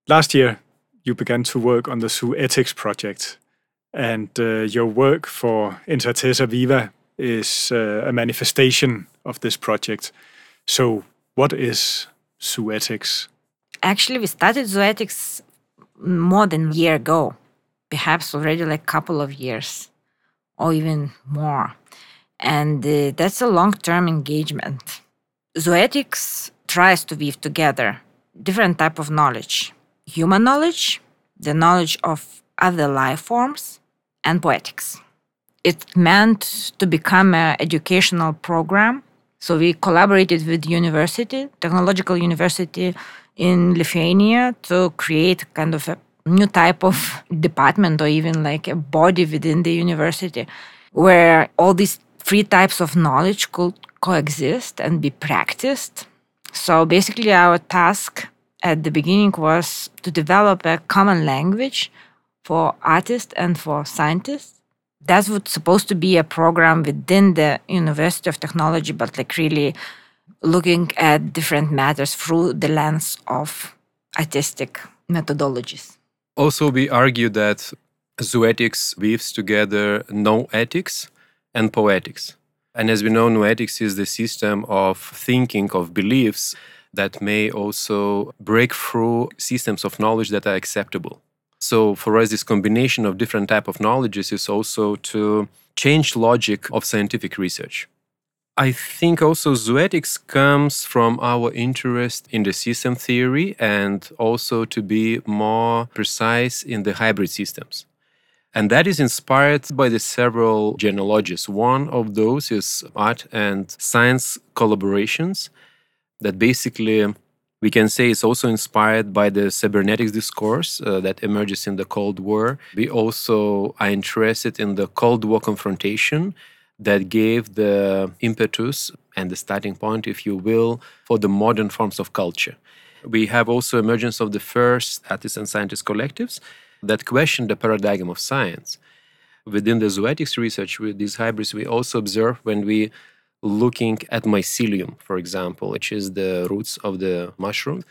Last year, you began to work on the Zoetics project, and your work for Intratesa Viva is a manifestation of this project. So, what is Zoetics? Actually, we started Zoetics more than a year ago, perhaps already like a couple of years or even more. And that's a long-term engagement. Zoetics tries to weave together different type of knowledge. Human knowledge, the knowledge of other life forms, and poetics. It's meant to become an educational program. So we collaborated with university, technological university in Lithuania, to create kind of a new type of department or even like a body within the university where all these three types of knowledge could coexist and be practiced. So basically our task at the beginning was to develop a common language for artists and for scientists. That was supposed to be a program within the University of Technology, but like really looking at different matters through the lens of artistic methodologies. Also, we argue that Zoetics weaves together noetics and poetics. And as we know, noetics is the system of thinking, of beliefs that may also break through systems of knowledge that are acceptable. So for us, this combination of different type of knowledges is also to change logic of scientific research. I think also Zoetics comes from our interest in the system theory and also to be more precise in the hybrid systems. And that is inspired by the several genealogies. One of those is art and science collaborations that basically we can say is also inspired by the cybernetics discourse that emerges in the Cold War. We also are interested in the Cold War confrontation that gave the impetus and the starting point, if you will, for the modern forms of culture. We have also emergence of the first artists and scientist collectives that question the paradigm of science. Within the Zoetics research with these hybrids, we also observe when we looking at mycelium, for example, which is the roots of the mushroom.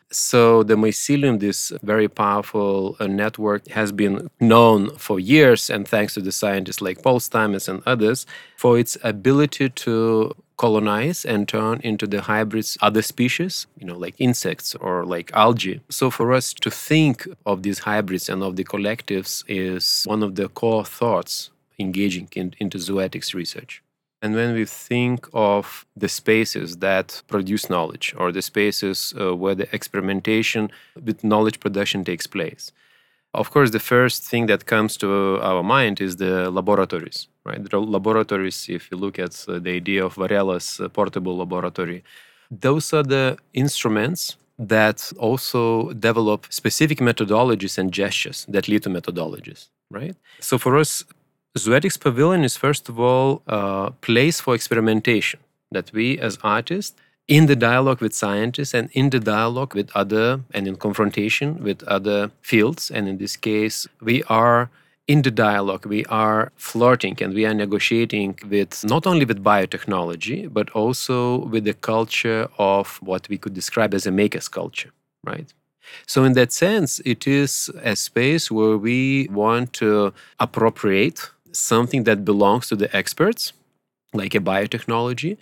So the mycelium, this very powerful network, has been known for years, and thanks to the scientists like Paul Stamets and others, for its ability to colonize and turn into the hybrids other species, like insects or like algae. So for us to think of these hybrids and of the collectives is one of the core thoughts engaging into Zoetics research. And when we think of the spaces that produce knowledge or the spaces where the experimentation with knowledge production takes place, of course, the first thing that comes to our mind is the laboratories, right? The laboratories, if you look at the idea of Varela's portable laboratory, those are the instruments that also develop specific methodologies and gestures that lead to methodologies, right? So for us, Zoetics Pavilion is first of all a place for experimentation that we as artists, in the dialogue with scientists and in the dialogue with other and in confrontation with other fields, and in this case, we are in the dialogue, we are flirting and we are negotiating with not only with biotechnology, but also with the culture of what we could describe as a maker's culture, right? So in that sense, it is a space where we want to appropriate something that belongs to the experts, like a biotechnology,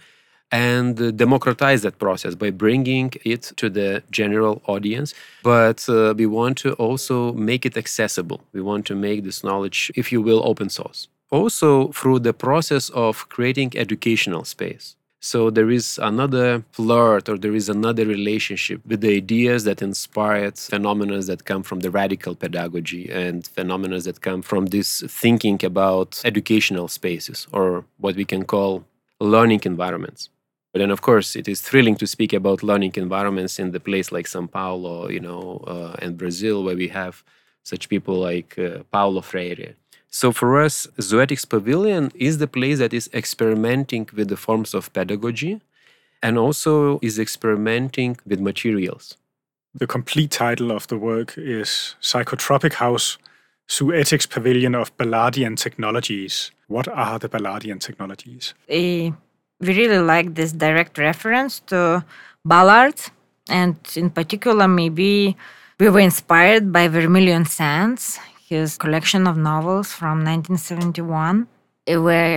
and democratize that process by bringing it to the general audience. But we want to also make it accessible. We want to make this knowledge, if you will, open source. Also through the process of creating educational space. So there is another flirt or there is another relationship with the ideas that inspired phenomena that come from the radical pedagogy and phenomena that come from this thinking about educational spaces or what we can call learning environments. But then, of course, it is thrilling to speak about learning environments in the place like São Paulo, and Brazil, where we have such people like Paulo Freire. So for us, Zoetics Pavilion is the place that is experimenting with the forms of pedagogy and also is experimenting with materials. The complete title of the work is Psychotropic House, Zoetics Pavilion of Ballardian Technologies. What are the Ballardian technologies? We really like this direct reference to Ballard, and in particular, maybe We were inspired by Vermilion Sands, his collection of novels from 1971, where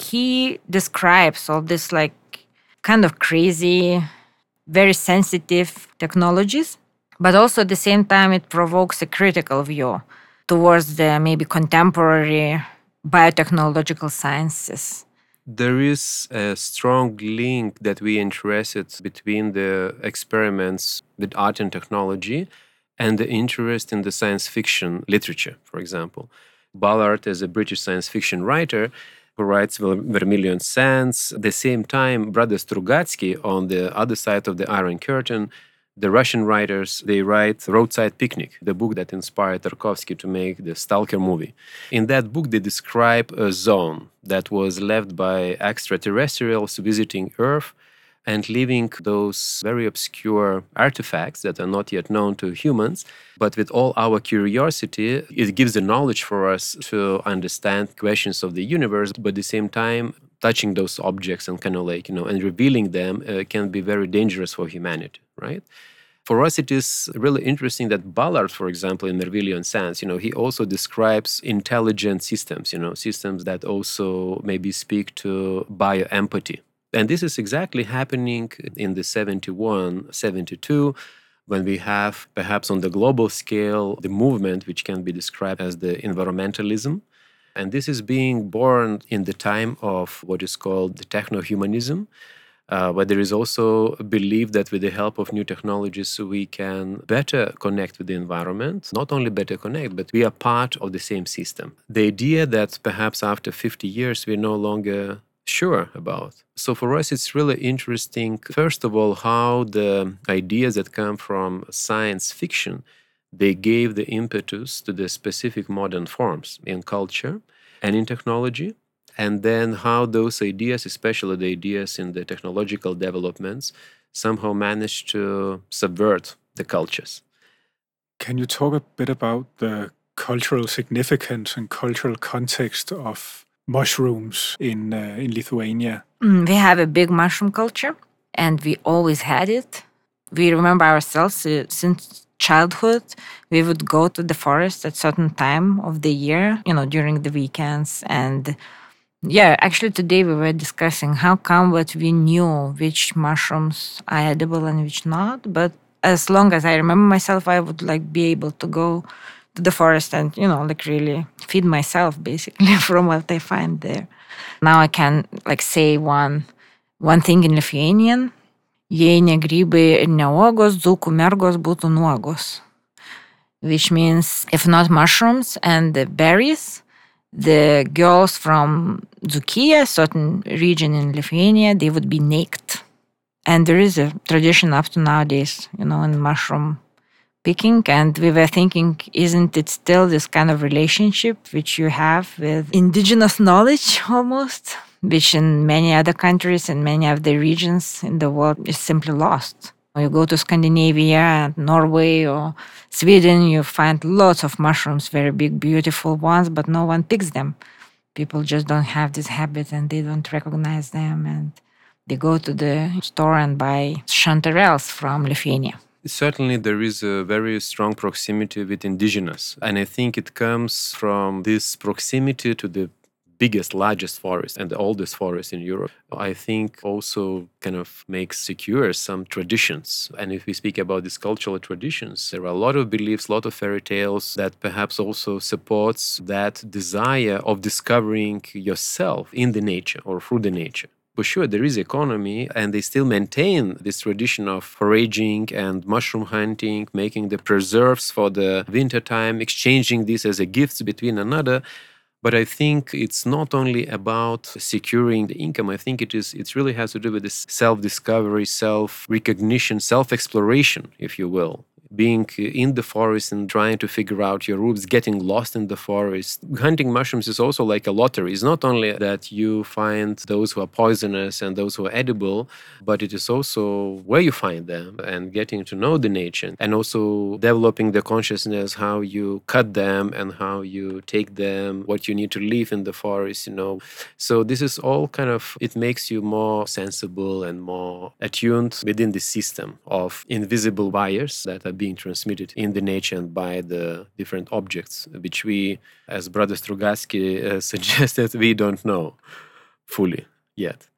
he describes all this like kind of crazy, very sensitive technologies, but also at the same time it provokes a critical view towards the maybe contemporary biotechnological sciences. There is a strong link that we interested between the experiments with art and technology and the interest in the science fiction literature, for example. Ballard is a British science fiction writer who writes Vermilion Sands. At the same time, Brothers Strugatsky, on the other side of the Iron Curtain, the Russian writers, they write Roadside Picnic, the book that inspired Tarkovsky to make the Stalker movie. In that book, they describe a zone that was left by extraterrestrials visiting Earth and leaving those very obscure artifacts that are not yet known to humans. But with all our curiosity, it gives the knowledge for us to understand questions of the universe, but at the same time, touching those objects and kind of like, and revealing them can be very dangerous for humanity, right? For us, it is really interesting that Ballard, for example, in Vermilion Sands, he also describes intelligent systems, systems that also maybe speak to bioempathy. And this is exactly happening in the 71, 72, when we have, perhaps on the global scale, the movement which can be described as the environmentalism. And this is being born in the time of what is called the techno-humanism, where there is also a belief that with the help of new technologies, we can better connect with the environment. Not only better connect, but we are part of the same system. The idea that perhaps after 50 years, we're no longer sure about. So for us, it's really interesting, first of all, how the ideas that come from science fiction, they gave the impetus to the specific modern forms in culture and in technology. And then how those ideas, especially the ideas in the technological developments, somehow managed to subvert the cultures. Can you talk a bit about the cultural significance and cultural context of mushrooms in Lithuania? We have a big mushroom culture, and we always had it. We remember ourselves since childhood. We would go to the forest at certain time of the year, during the weekends. And yeah, actually today we were discussing how come that we knew which mushrooms are edible and which not. But as long as I remember myself, I would be able to go to the forest and, really feed myself basically from what I find there. Now I can say one thing in Lithuanian. Jei ne grybai ir ne uogos, dzūkų mergos būtų nuogos. Which means if not mushrooms and the berries, the girls from Dzūkija, certain region in Lithuania, they would be naked. And there is a tradition up to nowadays, in mushroom picking. And we were thinking, isn't it still this kind of relationship which you have with indigenous knowledge almost, which in many other countries and many of the regions in the world is simply lost. When you go to Scandinavia, Norway or Sweden, you find lots of mushrooms, very big, beautiful ones, but no one picks them. People just don't have this habit and they don't recognize them. And they go to the store and buy chanterelles from Lithuania. Certainly, there is a very strong proximity with indigenous. And I think it comes from this proximity to the biggest, largest forest and the oldest forest in Europe. I think also kind of makes secure some traditions. And if we speak about these cultural traditions, there are a lot of beliefs, a lot of fairy tales that perhaps also supports that desire of discovering yourself in the nature or through the nature. For sure, there is economy, and they still maintain this tradition of foraging and mushroom hunting, making the preserves for the winter time, exchanging this as a gift between another. But I think it's not only about securing the income. I think it really has to do with this self-discovery, self-recognition, self-exploration, if you will. Being in the forest and trying to figure out your roots, getting lost in the forest. Hunting mushrooms is also like a lottery. It's not only that you find those who are poisonous and those who are edible, but it is also where you find them and getting to know the nature and also developing the consciousness how you cut them and how you take them, what you need to leave in the forest, So this is all kind of, it makes you more sensible and more attuned within the system of invisible wires that are being transmitted in the nature and by the different objects, which we, as Brother Strugatsky suggested, we don't know fully yet.